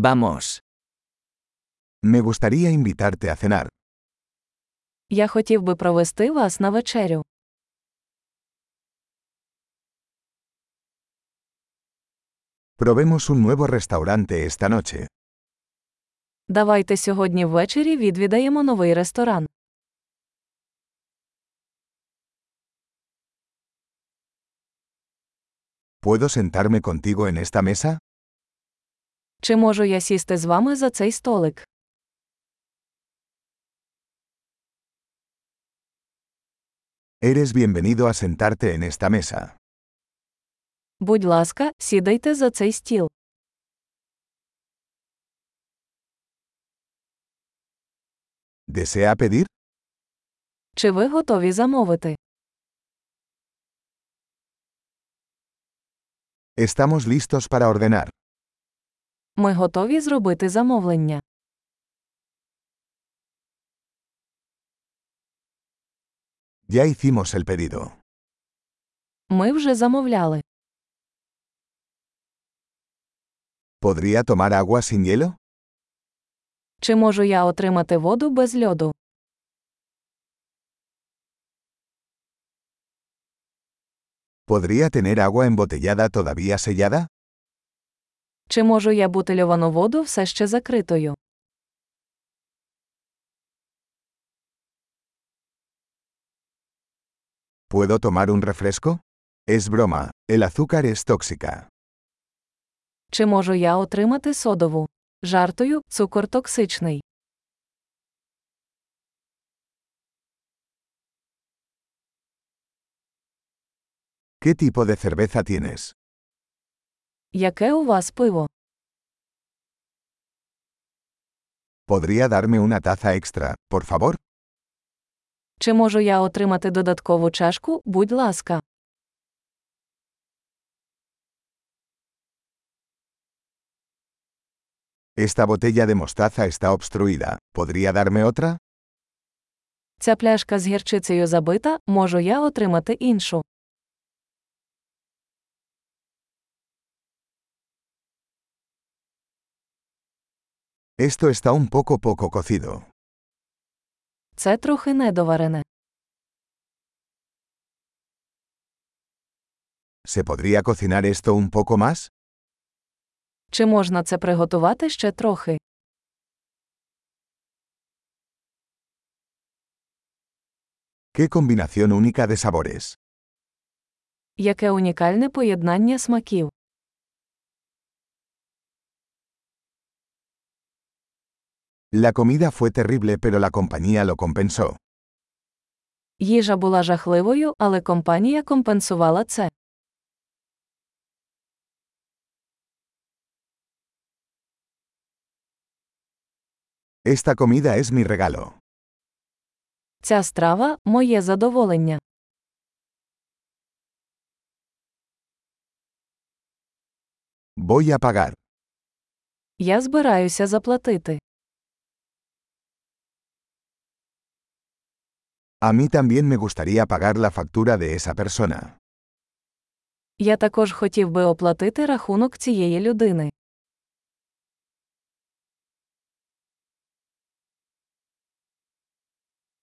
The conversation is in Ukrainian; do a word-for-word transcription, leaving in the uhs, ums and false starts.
Vamos. Me gustaría invitarte a cenar. Я хотів би провести вас на вечерю. Probemos un nuevo restaurante esta noche. Давайте сьогодні ввечері відвідаємо новий ресторан. ¿Puedo sentarme contigo en esta mesa? Чи можу я сісти з вами за цей столик? Eres bienvenido a sentarte en esta mesa. Будь ласка, сідайте за цей стіл. ¿Desea pedir? Чи ви готові замовити? Estamos listos para ordenar. Ми готові зробити замовлення. Ya hicimos el pedido. Ми вже замовляли. ¿Podría tomar agua sin hielo? Чи можу я отримати воду без льоду? ¿Podría tener agua embotellada todavía sellada? Чи можу я бутильовану воду все ще закритою? ¿Puedo tomar un refresco? Es broma, el azúcar es tóxica. Чи можу я отримати содову? Жартую, цукор токсичний. ¿Qué tipo de cerveza tienes? Яке у вас пиво? ¿Podría darme una taza extra, por favor? Чи можу я отримати додаткову чашку, будь ласка? Esta botella de mostaza está obstruida. ¿Podría darme otra? Ця пляшка з гірчицею забита, можу я отримати іншу? Esto está un poco poco cocido. Це трохи недоварене. ¿Se podría cocinar esto un poco más? Чи можна це приготувати ще трохи? ¡Qué combinación única de sabores! Яке унікальне поєднання смаків. La comida fue terrible, pero la compañía lo compensó. Їжа була жахливою, але компанія компенсувала це. Esta comida es mi regalo. Ця страва – моє задоволення. Voy a pagar. Я збираюся заплатити. A mí también me gustaría pagar la factura de esa persona. Я також хотів би оплатити рахунок цієї людини.